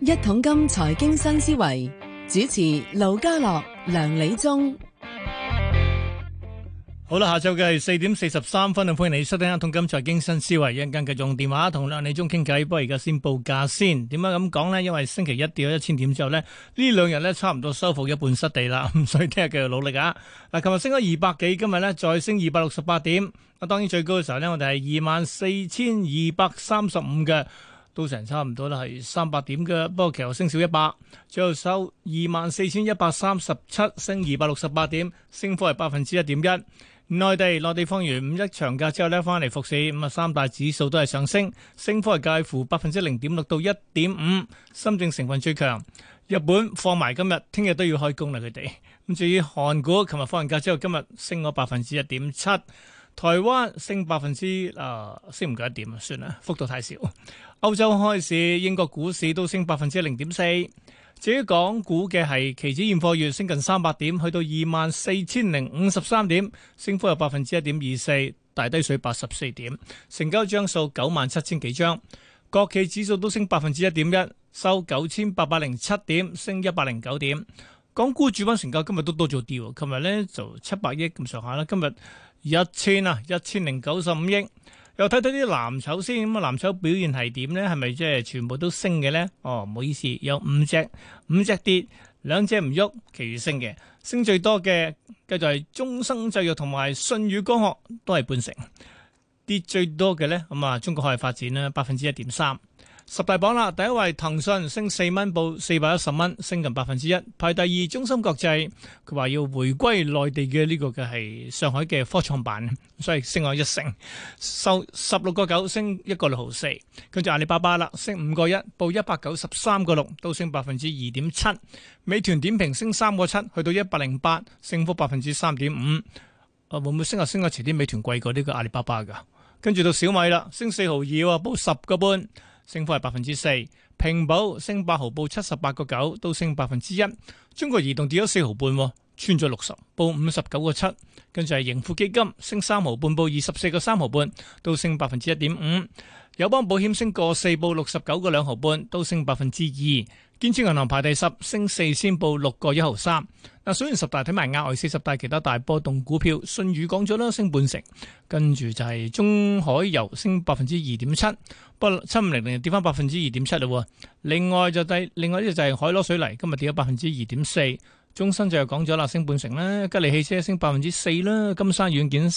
一桶金財經新思維，主持盧家樂、梁理中。 好啦，下晝嘅係4:43，歡迎你收聽一桶金財經新思維。一陣間繼續用電話同梁理中傾偈，不過而家先報價先。點解咁講呢？因為星期一跌咗1000點之後呢，呢兩日呢差唔多收復一半失地啦，咁所以聽日繼續努力啊！嗱，琴日升咗200幾，今日呢再升268點。當然最高嘅時候呢，我哋係24,235嘅。都成差唔多啦，係300點嘅，不過其實升少100，最後收24,137，升268點，升幅係1.1%。內地放完五一長假之後呢，翻嚟復市，咁啊三大指數都係上升，升幅係介乎0.6%到1.5%，深證成分最強。日本放埋今日，聽日都要開工啦，佢哋。咁至於韓股，琴日放完假之後，今日升咗1.7%。台灣升升唔夠1點啊，算啦，幅度太少。歐洲開市，英國股市都升0.4%。至於港股嘅係期指現貨月升近300點，去到24,053點，升幅有1.24%，大低水84點，成交張數97,000幾張。國企指數都升1.1%，收9,807點，升109點。港股主板成交今日都多咗啲，琴日呢就700億咁上下啦，今日1095億。又睇睇啲藍籌先，咁啊藍籌表現係點呢？係咪即係全部都升嘅呢？哦，唔好意思，有5隻跌，2隻唔喐，其餘升嘅。升最多嘅繼續係中生製藥同埋舜宇光學，都係半成。跌最多嘅呢，咁啊中國海外發展啦，1.3%。十大榜啦，第一位騰訊升4蚊，報410蚊，升近1%。排第二中芯國際，佢話要回歸內地嘅呢個嘅係上海嘅科創板，所以升咗1成，收16.9，升1.64。跟住阿里巴巴啦，升5.1，報193.6，都升2.7%。美團點評升3.7，去到108，升幅3.5%。會唔會升下遲啲？美團貴過呢個阿里巴巴噶。跟住到小米啦，升4毫2，報10.5。升幅係4%，平保升8毫，報78.9，都升1%。中國移動跌咗4毫半，穿咗60，報59.7。跟住係盈富基金升3毫半，報24.3毫半，都升1.5%。友邦保險升4，報69.2毫半，都升2%。建設銀行排第10，升4仙，報6.1毫3。嗱，數完十大睇埋額外40大其他大波動股票，舜宇講咗啦，升半成。跟住就係中海油升2.7%，不過7500跌翻2.7%嘞。另外呢就係海螺水泥，今日跌咗2.4%。中生就又講咗啦，升半成啦。吉利汽車升4%啦，金山軟件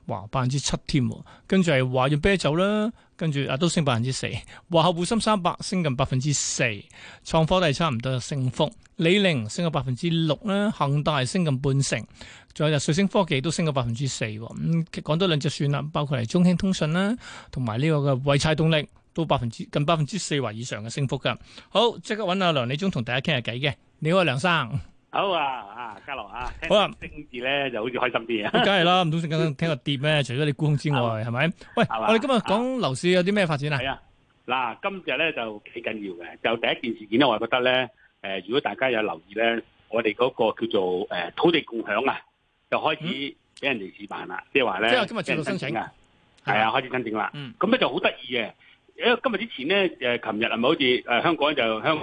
7%添。跟住係華潤啤酒啦，跟住都升4%。華夏滬深300升近4%，創科都係差唔多升幅。李寧升咗6%啦，恒大升近半成，仲有就瑞聲科技都升咗4%。咁講多兩隻算啦，包括係中興通訊啦，同埋呢個嘅濰柴動力都近4%或以上嘅升幅噶。好，即刻揾阿梁理中同大家傾下偈嘅。你好，梁生。 好啊，嘉樂啊， 好啊， 升字咧就好似開心啲啊！ 梗係啦，唔通聽個跌咩？除咗你沽空之外，係咪？喂，我哋今日講樓市有啲咩發展啊？ 係啊，嗱，今日咧就幾緊要嘅。就第一件事件咧，我係覺得咧，如果大家有留意咧，我哋嗰個叫做土地共享啊，就開始俾人哋試辦啦，即係話咧， 即係今日接到申請啊，係啊，開始申請啦。咁咧就好得意嘅。因為今日之前咧，琴日係咪好似香港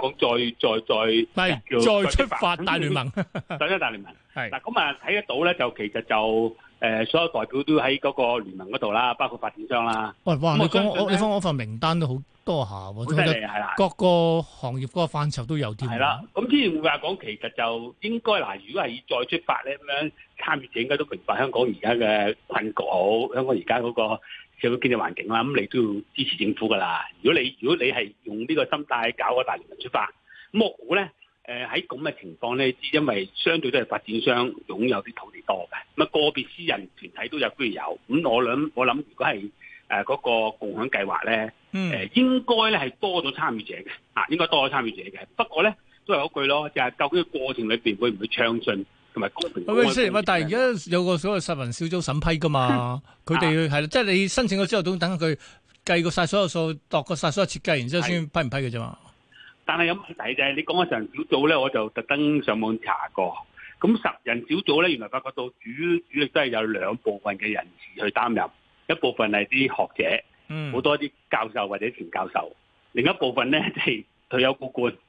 再出發大聯盟， 再出大聯盟係嗱，咁啊睇得到咧，就其實就所有代表都喺嗰個聯盟嗰度啦，包括發展商啦。 喂，哇！你講我份名單都好多下喎， 好犀利係啦， 各個行業嗰個範疇都有添。 係啦，咁之前會話講，其實就應該嗱，如果係再出發咧，咁樣參與者應該都明白香港而家嘅困局好，香港而家嗰個社會經濟環境啦，咁你都要支持政府噶啦。如果你係用呢個心態搞個大聯盟出發，咁我估咧，喺咁嘅情況咧，因為相對都係發展商擁有啲土地多嘅，咁啊個別私人團體都有居然有。咁我諗，如果係嗰個共享計劃咧，應該咧係多咗參與者嘅，應該多咗參與者嘅。不過咧都係嗰句咯，就係究竟過程裏邊會唔會暢順？同埋公平。 但係而家有個所謂實民小組審批噶嘛，佢哋係即係你申請咗之後，都等佢計過晒所有數，度過晒所有設計，然之後先批唔批嘅啫嘛。但係有問題就係你講嘅實人小組咧，我就特登上網查過。咁實人小組咧，原來發覺到主力都係有兩部分嘅人士去擔任，一部分係啲學者，好多啲教授或者前教授，另一部分咧就係退休高官。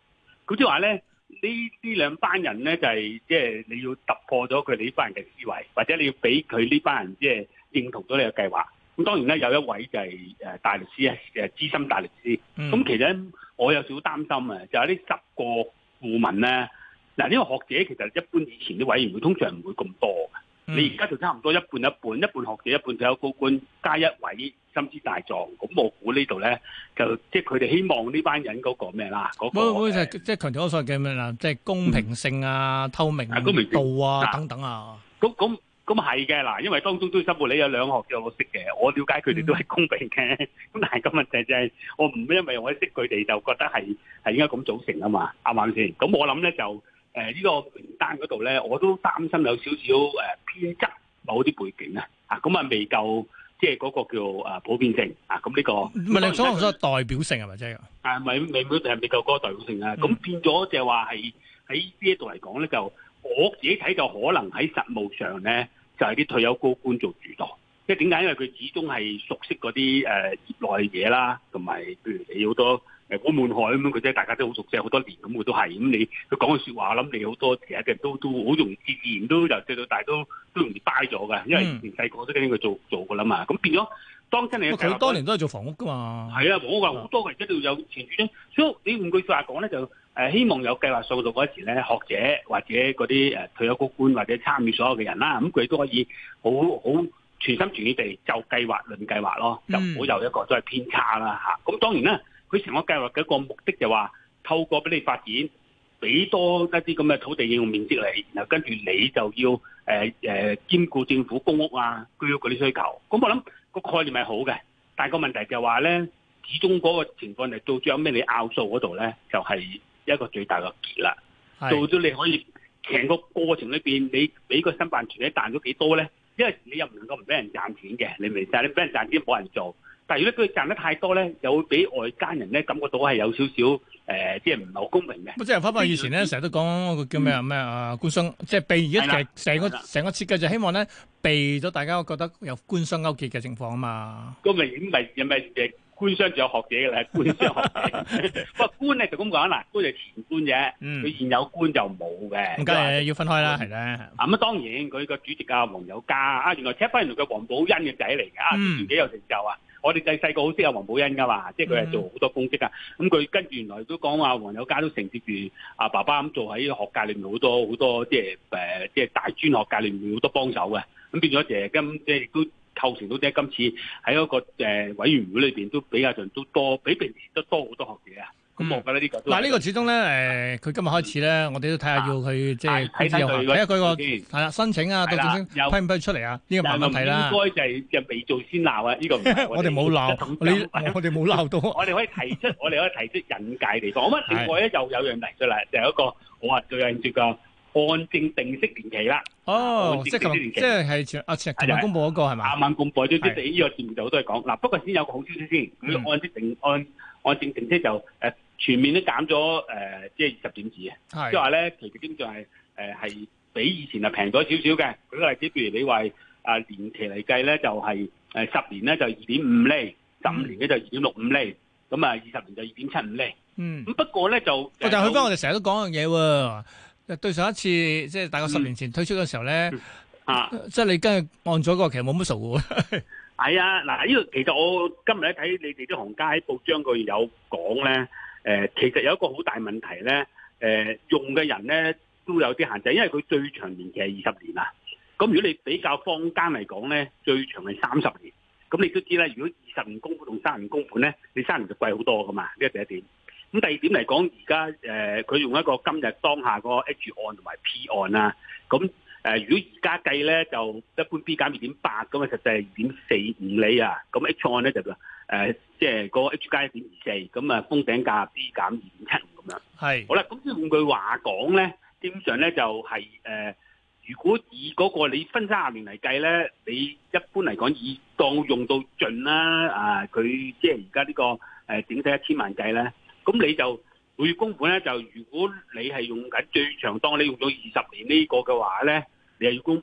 咁即係話咧，呢兩班人咧就係即係你要突破咗佢哋呢班人嘅思維，或者你要俾佢呢班人即係認同咗你嘅計劃。咁當然咧有一位就係大律師啊，資深大律師。咁其實我有少少擔心啊，就係呢10個顧問咧，嗱呢個學者其實一般以前啲委員會通常唔會咁多嘅。你而家就差唔多一半一半，一半學者一半退休高官，加一位心知大狀。咁我估呢度咧，就即係佢哋希望呢班人嗰個咩啦，嗰個即係強調嗰所謂嘅咩啦，即係公平性啊、透明度啊等等啊。 咁係嘅嗱，因為當中都申報你有兩個學者我識嘅，我了解佢哋都係公平嘅。咁但係個問題就係，我唔因為我識佢哋就覺得係應該咁組成啊嘛，啱唔啱先？咁我諗咧就。呢個名單嗰度咧，我都擔心有少少偏側某啲背景啊，咁啊未夠即係嗰個叫普遍性啊，咁呢個唔係你所謂代表性係咪啫？ 未夠嗰個代表性啊，咁變咗就係話係喺呢一度嚟講咧，就我自己睇就可能喺實務上咧，就係啲退休高官做主導。即係點解？因為佢始終係熟悉嗰啲業內嘢啦，同埋譬如你好多古滿海咁樣，佢即係大家都好熟悉好多年咁，佢都係咁。你佢講嘅説話，我諗你好多其實嘅都好容易自然都由細到大都容易 buy 咗嘅，因為以前細個都跟佢做㗎啦嘛。咁變咗當真你佢多年都係做房屋㗎嘛。係啊，房屋好多嘅，而家都有前瞻。所以你換句説話講咧，就希望有計劃數到嗰時咧，學者或者嗰啲退休高官或者參與所有嘅人啦，咁佢都可以好全心全意地就計劃論計劃咯，就唔好有一個都係偏差啦嚇。咁當然啦，佢成個計劃嘅一個目的就話透過俾你發展，俾多一啲咁嘅土地應用面積你，然後跟住你就要兼顧政府公屋啊、居屋嗰啲需求。咁我諗個概念係好嘅，但係個問題就係話咧，始終嗰個情況係到最後咩你拗數嗰度咧，就係一個最大嘅結啦。到咗你可以成個過程裏邊，你俾個申辦團體賺咗幾多咧？因為你又唔能夠唔俾人賺錢嘅，你明唔明？但係你俾人賺錢冇人做，但係如果佢賺得太多咧，又會俾外間人咧感覺到係有少少即係唔係好公平嘅。 即係翻返以前咧，成日都講個叫咩官商，即係避而家其實成個設計就希望咧避咗大家覺得有官商勾結嘅情況啊嘛。 咁咪官商就有學者嘅啦，官商學者。不過官咧就咁講啦，官就前官啫，佢現有官就冇嘅。 咁梗係要分開啦，係咧。 咁當然佢個主席黃友嘉原來踢翻原來佢黃寶欣嘅仔嚟嘅，自己有成就啊！我哋細個好識阿黃寶欣噶嘛，即係佢係做好多公職啊。咁佢跟住原來都講話黃友嘉都承接住阿爸爸咁做喺學界裏面好多即係大專學界裏面好多幫手嘅。咁變咗即係亦都構成到即係今次喺嗰個委員會裏邊都比較上都多，比平時都多好多學者啊。咁我覺得呢個嗱呢個始終咧佢今日開始咧，我哋都睇下要佢即係睇下佢個係啦申請啊，到正式批唔批出嚟啊？呢個慢慢睇啦。 應該就未做先鬧啊！呢個我哋冇鬧，我哋冇鬧到。 我哋可以提出引介地方。我諗另外咧又有樣提出嚟，就係一個我話最有興趣嘅按證定息年期啦。 哦，即係琴日公佈嗰個係嘛？ 啱啱公佈咗，即係呢個節目就好多人講。嗱，不過先有個好消息先，佢按證定息就全面都減咗即係20點子嘅，即係話咧，其實基本上係比以前係平咗少少嘅。舉個例子，譬如你話年期嚟計咧，就係10年咧就2.5厘，15年咧就2.65厘，咁啊20年就2.75厘。咁不過咧就但係佢翻我哋成日都講樣嘢喎，對上一次即係大概10年前推出嘅時候咧，即係你跟住按咗個其實冇乜數嘅。 係啊，嗱呢個其實我今日咧睇你哋啲行家喺報章佢有講咧。其實有一個好大問題咧，用嘅人咧都有啲限制，因為佢最長年期係20年啊。咁如果你比較坊間嚟講咧，最長係30年。咁你都知啦，如果20年供款同30年供款咧，你30年就貴好多噶嘛。呢個第一點。咁第二點嚟講，而家佢用一個今日當下個 H 案同埋 P 案啊。咁如果而家計咧，就一般 B 減2.8咁啊，實際係2.45厘啊。咁 H 案咧就即係個 H 加1.24，咁啊封頂價 B 減2.75咁樣。係好啦，咁即係換句話講咧，基本上咧就係如果以嗰個你分30年嚟計咧，你一般嚟講以當用到盡啦，佢即係而家呢個整體1000萬計咧，咁你就每月供款咧就如果你係用緊最長，當你用到20年呢個嘅話咧，你係要供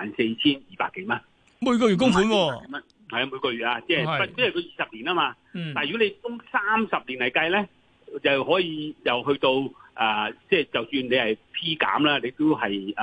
54,200幾蚊， 每個月供款喎。 係啊，每個月啊，即係佢20年啊嘛。但係如果你供30年嚟計咧，就可以又去到即係就算你係 P 減啦，你都係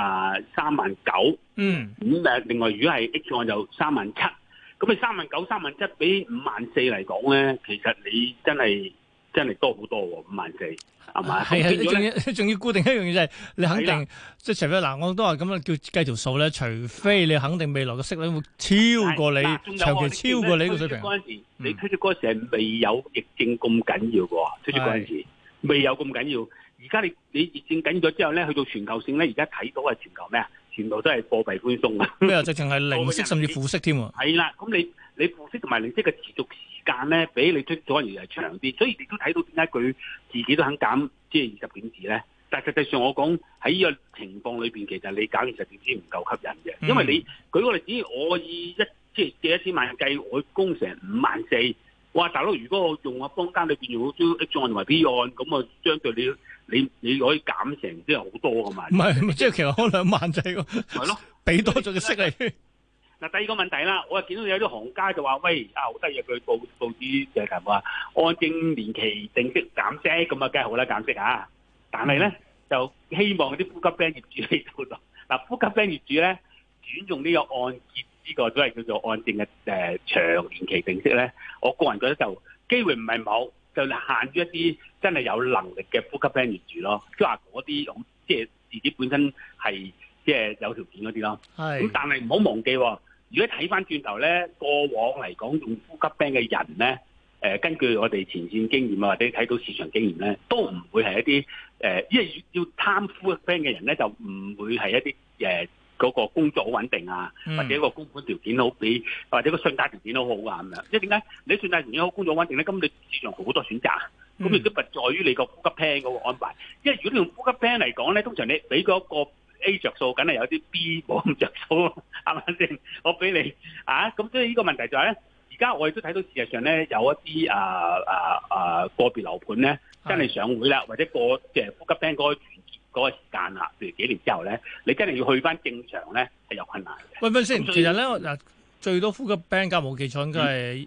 39000。咁另外如果係 H 按就37000。咁你39000、37000比54000嚟講咧，其實你真係多好多喎，54000係咪？ 係仲要固定一樣嘢就係你肯定，即係除非嗱，我都話咁樣叫計條數咧，除非你肯定未來嘅息率會超過你，長期超過你呢個水平。 你推出嗰陣時係未有疫症咁緊要嘅喎，推出嗰陣時未有咁緊要。而家你疫症緊咗之後咧，去到全球性咧，而家睇到係全球咩啊？全部都係貨幣寬鬆啊！ 咩啊？直情係零息甚至負息添喎。 係啦，咁你負息同埋零息嘅持續時間咧，比你推咗而係長啲，所以你都睇到點解佢自己都肯減即係20點子咧？但係實際上我講喺呢個情況裏邊，其實你減20點子唔夠吸引嘅，因為你舉個例子，我以即係借1000萬計，我供成54000。哇！大佬，如果我用坊間裏邊用好多 H 按同埋 P 按，咁啊相對你可以減成即係好多㗎嘛？唔係，即係其實開2萬制喎。係咯，俾多咗嘅息嚟。 嗱，第二個問題啦，我見到有啲行家就話：喂，好得意，佢報紙就係話按證年期定息減息，咁啊梗係好啦，減息啊！但係咧就希望啲呼吸餅業主喺度咯。嗱，呼吸餅業主咧轉用呢個按揭呢個都係叫做按證嘅長年期定息咧，我個人覺得就機會唔係冇，就限於一啲真係有能力嘅呼吸餅業主咯，即係話嗰啲即係自己本身係即係有條件嗰啲咯。咁但係唔好忘記喎。如果睇翻轉頭咧，過往嚟講用呼吸餅嘅人咧，根據我哋前線經驗啊，或者睇到市場經驗咧，都唔會係一啲因為要貪呼吸餅嘅人咧，就唔會係一啲嗰個工作好穩定啊，或者個供款條件好比，或者個信貸條件好好啊咁樣。即係點解你信貸條件好、工作穩定咧？咁你市場好多選擇，咁亦都不在於你個呼吸餅嗰個安排。因為如果你用呼吸餅嚟講咧，通常你俾嗰個 A 着數，梗係有啲 B 冇咁着數，係咪先？我俾你咁所以呢個問題就係咧，而家我亦都睇到事實上咧，有一啲個別樓盤咧，真係上會啦，或者即係呼吸餅嗰個時間啦，譬如幾年之後咧，你真係要去翻正常咧，係有困難嘅。 喂先，其實咧嗱，最多呼吸餅價冇記錯應該係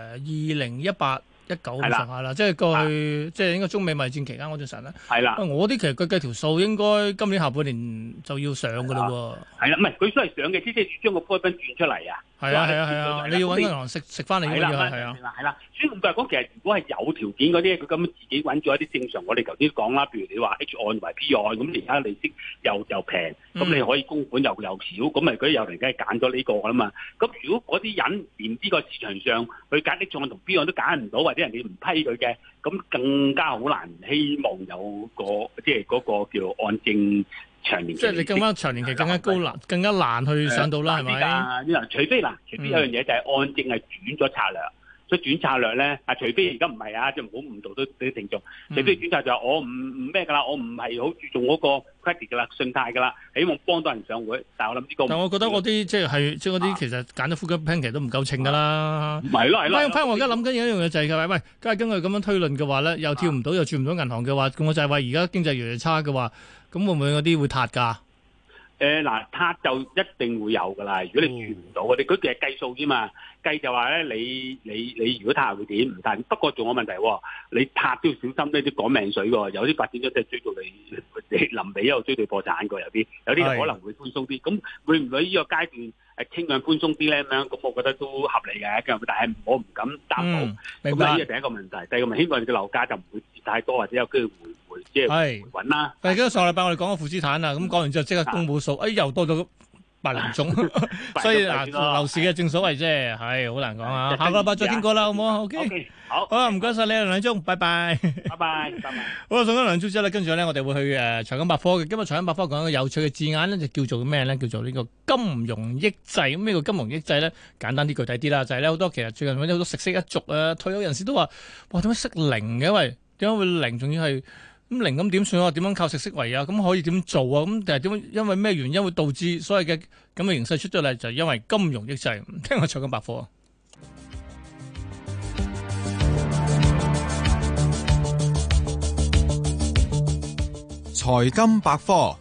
2018、19咁上下啦，即係過去即係應該中美貿易戰期間嗰陣時咧。係啦，我啲其實佢計條數應該今年下半年就要上㗎啦喎。係啦，唔係佢都係上嘅，即係將個呼吸餅轉出嚟啊。係啊，你要揾銀行食翻嚟㗎嘛？係啦，所以咁嚟講，其實如果係有條件嗰啲，佢咁自己揾咗一啲正常，我哋頭先講啦，譬如你話 H 按同埋 P 按，咁而家利息又平，咁你可以供款又少，咁咪嗰啲有人梗係揀咗呢個㗎啦嘛。咁如果嗰啲人連呢個市場上去揀 H 按同 P 按都揀唔到，或者人哋唔批佢嘅，咁更加好難希望有即係嗰個叫按證長年期。即係你更加長年期更加高難，更加難去上到啦，係咪？除非有樣嘢就係按證係轉咗策略。所以轉策略咧，除非而家唔係啊，即係唔好誤導到啲聽眾。除非轉策就係我唔咩㗎啦，我唔係好注重嗰個 credit 㗎啦，信貸㗎啦，希望幫到人上會。但係我諗呢個，但係我覺得嗰啲即係嗰啲其實揀咗呼吸餅其實都唔夠稱㗎啦。係咯。我而家諗緊一樣嘢就係喂，梗係根據咁樣推論嘅話咧，又跳唔到又轉唔到銀行嘅話，咁我就係話而家經濟越嚟越差嘅話，咁會唔會嗰啲會塌㗎？撻就一定會有㗎啦。如果你轉唔到，佢哋係計數啫嘛。計就話咧，你如果撻會點唔撻？不過仲有問題喎，你撻都要小心呢啲趕命水喎。有啲發展咗即係追到你臨尾一路追到破產過，有啲可能會寬鬆啲。咁會唔會呢個階段傾向寬鬆啲咧？咁樣咁，我覺得都合理嘅。但係我唔敢擔保。明白。咁呢個第一個問題，第二個問題，希望你嘅樓價就唔會跌太多，或者有機會回即係回穩啦。係。記得上個禮拜我哋講個負資產啦，咁講完之後即刻公佈數，又多咗8宗，所以樓市嘅正所謂啫，係好難講啊。下個禮拜再傾過啦，好唔好 ？OK， 好啊，唔該晒你梁理中，拜拜，拜拜。好啊，送咗梁理中之後咧，跟住咧我哋會去財金百科嘅。今日財金百科講一個有趣嘅字眼咧，就叫做咩咧？叫做呢個金融抑制。咁呢個金融抑制咧，簡單啲具體啲啦，就係咧好多其實最近好多食息一族啊，退休人士都話：哇，點解息零嘅？喂，點解會零？仲要係？咁零咁點算啊？點樣靠食息為啊？咁可以點做啊？咁定係點？因為咩原因會導致所謂嘅咁嘅形勢出咗嚟？就係因為金融抑制。聽我財金百科。 財金百科。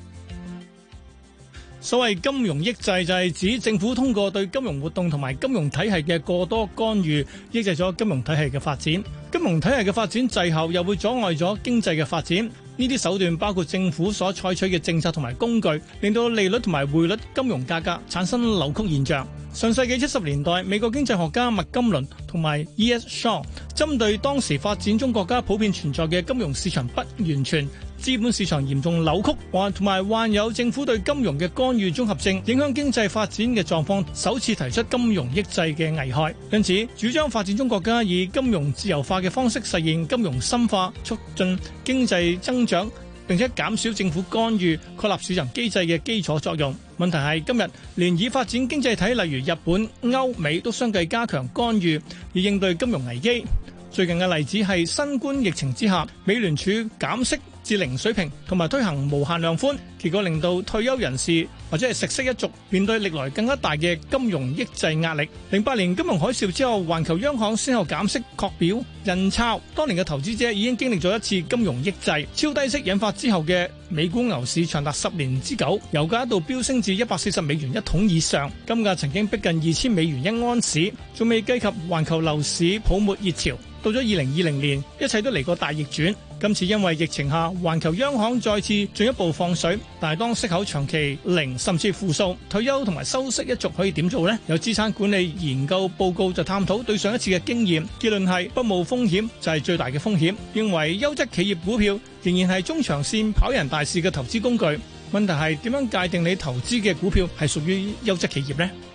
所謂金融抑制就係指政府通過對金融活動同埋金融體系嘅過多干預，抑制咗金融體系嘅發展。金融體系嘅發展滯後，又會阻礙咗經濟嘅發展。 呢啲手段包括政府所採取嘅政策同埋工具，令到利率同埋匯率、金融價格產生扭曲現象。上世紀70年代，美國經濟學家麥金倫同埋 E.S. Shaw 針對當時發展中國家普遍存在嘅金融市場不完全、資本市場嚴重扭曲，同埋患有政府對金融嘅干預綜合症，影響經濟發展嘅狀況，首次提出金融抑制嘅危害。因此，主張發展中國家以金融自由化嘅方式實現金融深化，促進經濟增長，並且減少政府干預，確立市場機制嘅基礎作用。問題係今日連已發展經濟體例如日本、歐美都相繼加強干預，以應對金融危機。最近嘅例子係新冠疫情之下，美聯儲減息至零水平，同埋推行無限量寬，結果令到退休人士或者係食色一族面對歷來更加大嘅金融抑制壓力。08年金融海嘯之後，環球央行先後減息、擴表、印鈔，當年嘅投資者已經經歷咗一次金融抑制。超低息引發之後嘅美股牛市長達10年之久，油價一度飆升至140美元一桶以上，金價曾經逼近2000美元一盎司，仲未計及環球樓市泡沫熱潮。到咗2020年，一切都嚟個大逆轉。今次因為疫情下，環球央行再次進一步放水，但係當息口長期零甚至負數，退休同埋收息一族可以點做呢？有資產管理研究報告就探討對上一次嘅經驗，結論係不冒風險就係最大嘅風險，認為優質企業股票仍然係中長線跑贏大市嘅投資工具。問題係點樣界定你投資嘅股票係屬於優質企業呢？